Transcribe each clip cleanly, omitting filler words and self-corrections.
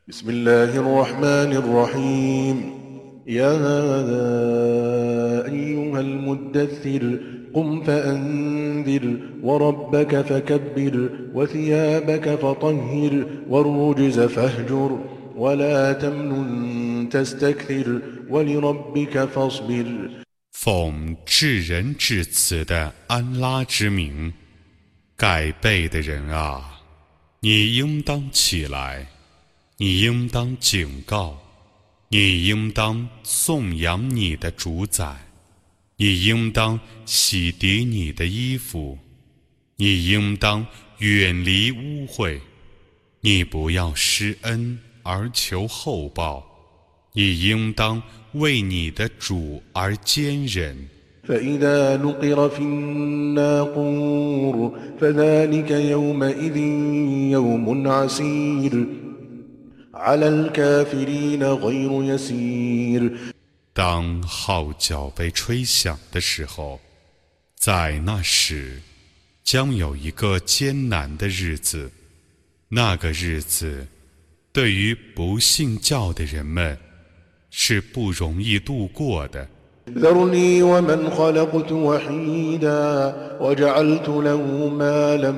بسم الله الرحمن الرحيم يا أيها المدثر قم فأنذر وربك فكبر وثيابك فطهر والرجز فاهجر ولا تمنن تستكثر ولربك فاصبر 奉至仁至慈的安拉之名，盖被的人啊，你应当起来，你应当警告，你应当颂扬你的主宰，你应当洗涤你的衣服，你应当远离污秽，你不要施恩而求厚报，你应当为你的主而坚忍。 فإذا نقر في الناقور فذلك يومئذ يوم عسير على الكافرين غير يسير 当号角被吹响的时候，在那时将有一个艰难的日子，那个日子对于不信教的人们是不容易度过的。 ذرني ومن خلقت وحيدا وجعلت له مالا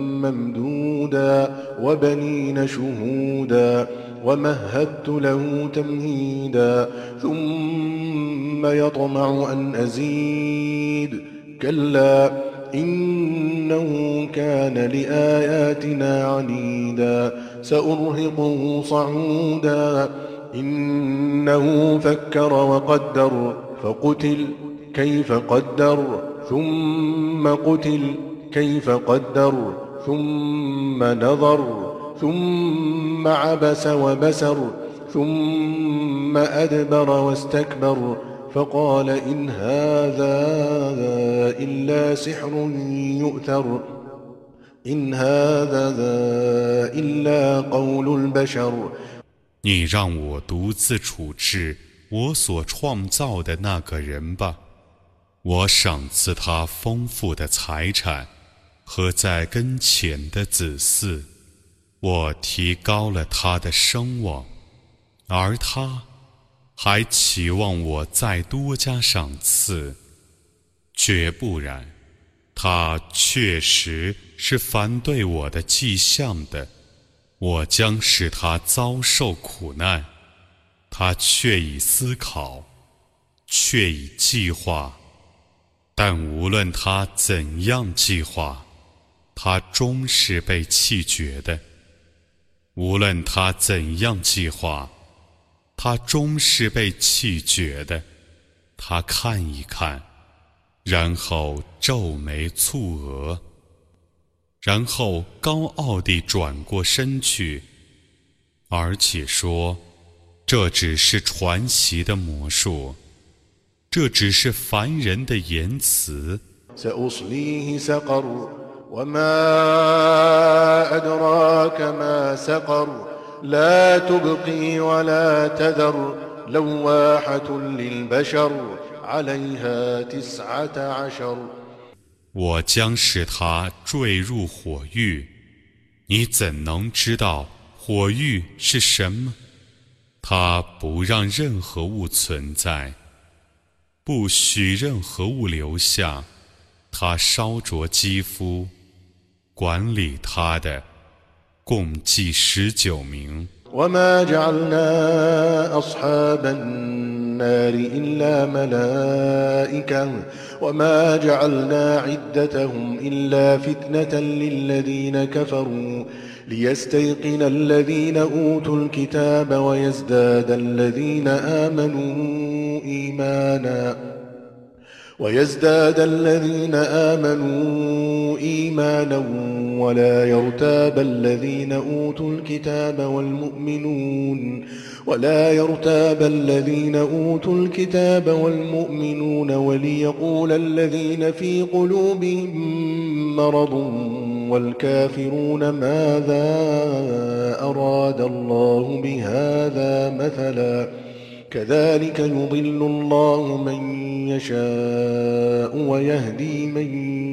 ممدودا وبنين شهودا ومهدت له تمهيدا ثم يطمع أن أزيد كلا إنه كان لآياتنا عنيدا سأرهقه صعودا إنه فكر وقدر فقتل كيف قدر ثم قتل كيف قدر ثم نظر ثم عبس وبسر ثم أدبر واستكبر فقال إن هذا إلا سحر يؤثر إن هذا إلا قول البشر 你让我独自处置我所创造的那个人吧，我赏赐他丰富的财产和在跟前的子嗣，我提高了他的声望，而他还期望我再多加赏赐，绝不然，他确实是反对我的迹象的，我将使他遭受苦难。他却已思考，却已计划，但无论他怎样计划，他终是被弃绝的。无论他怎样计划，他终是被弃绝的。他看一看，然后皱眉蹙额，然后高傲地转过身去，而且说，这只是传习的魔术，这只是凡人的言辞。 سأصليه سقر وما أدراك ما سقر لا تبقي ولا تذر لواحة للبشر عليها 19 我将使他坠入火狱，你怎能知道火狱是什么？它不让任何物存在，不许任何物留下，它烧灼肌肤，管理它的共计19名。 وما جعلنا أصحاب النار إلا ملائكة وما جعلنا عدتهم إلا فتنة للذين كفروا ليستيقن الذين أوتوا الكتاب ويزداد الذين آمنوا إيمانا ولا يرتاب الذين أوتوا الكتاب والمؤمنون وليقول الذين في قلوبهم مرض والكافرون ماذا أراد الله بهذا مثلا كذلك يضل الله من يشاء ويهدي من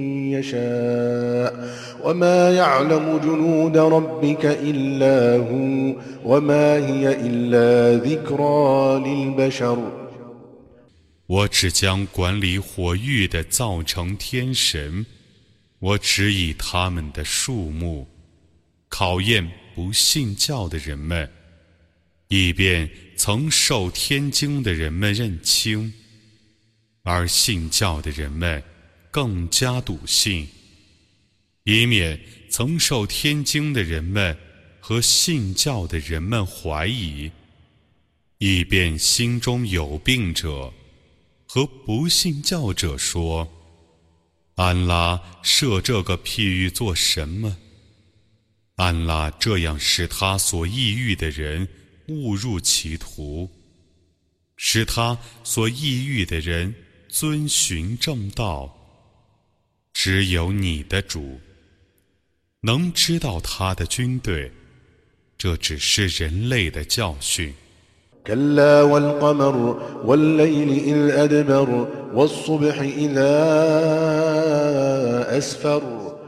يشاء وما يعلم جنود ربك إلا هو وما هي إلا ذكرى للبشر 我只将管理火域的造成天神，我只以他们的数目考验不信教的人们，以便曾受天经的人们认清，而信教的人们更加笃信，以免曾受天经的人们和信教的人们怀疑，以便心中有病者和不信教者说：安拉设这个譬喻做什么？安拉这样使他所抑郁的人误入歧途，使他所抑郁的人遵循正道。只有你的主能知道他的军队，这只是人类的教训。 كلا والقمر والليل إذ أدبر والصبح إذا أسفر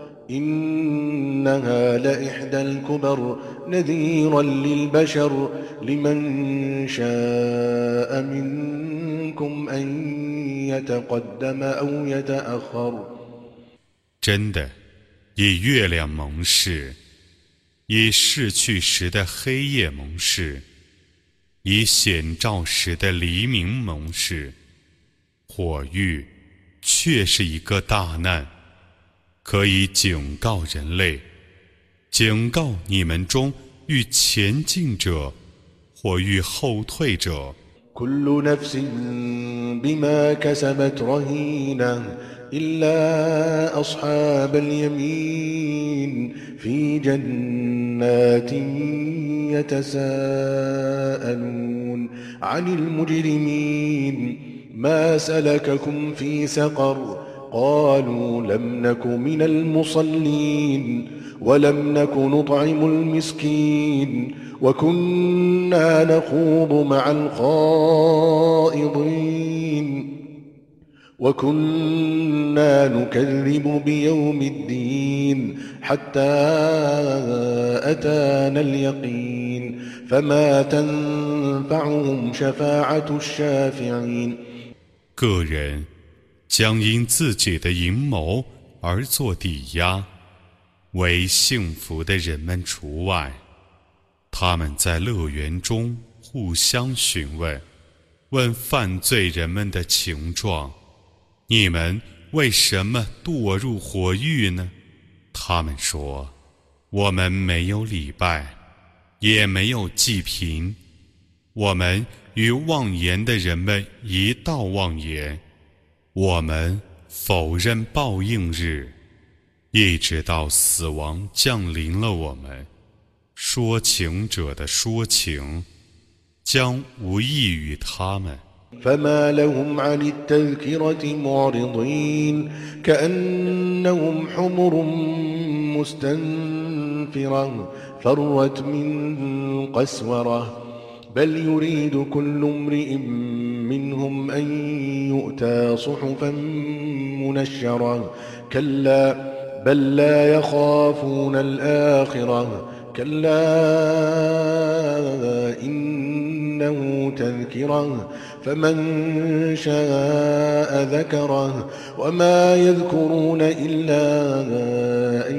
إنها لإحدى الكبر نذيرا للبشر لمن شاء منكم أن يتقدم أو يتأخر 真的，以月亮盟誓，以逝去时的黑夜盟誓，以显照时的黎明盟誓，火域却是一个大难，可以警告人类，警告你们中欲前进者或欲后退者。 كل نفس بما كسبت رهينة إلا أصحاب اليمين في جنات يتساءلون عن المجرمين ما سلككم في سقر قالوا لم نك من المصلين ولم نك نطعم المسكين وكنا نخوض مع الخائضين وكنا نكذب بيوم الدين حتى أتانا اليقين فما تنفعهم شفاعة الشافعين 个人将因自己的阴谋而做抵押，为幸福的人们除外。他们在乐园中互相询问，问犯罪人们的情状：你们为什么堕入火狱呢？他们说：我们没有礼拜，也没有祭品，我们与妄言的人们一道妄言，我们否认报应日，一直到死亡降临了我们。说情者的说情将无益于他们。 فما لهم عن التذكرة معرضين كأنهم حمر مستنفرة فرت من قسورة بل يريد كل امرئ منهم أن يؤتى صحفا منشرة كلا بل لا يخافون الآخرة كلا إنه تذكرة فمن شاء ذكره وما يذكرون إلا أن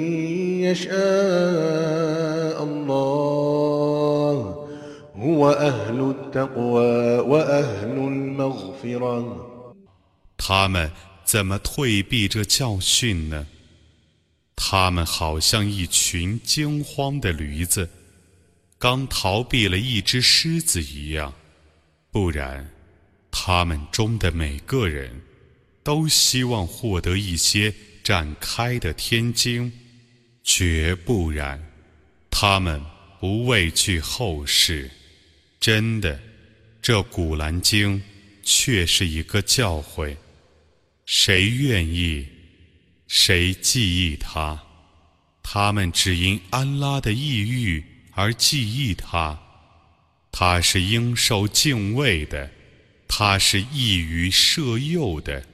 يشاء الله هو أهل التقوى وأهل المغفرة 他们怎么退避这教训呢？他们好像一群惊慌的驴子，刚逃避了一只狮子一样。不然，他们中的每个人都希望获得一些展开的天经，绝不然，他们不畏惧后世。真的，这古兰经却是一个教诲，谁愿意，谁记忆它，他们只因安拉的抑郁而记忆它， 他是应受敬畏的，他是易于摄诱的。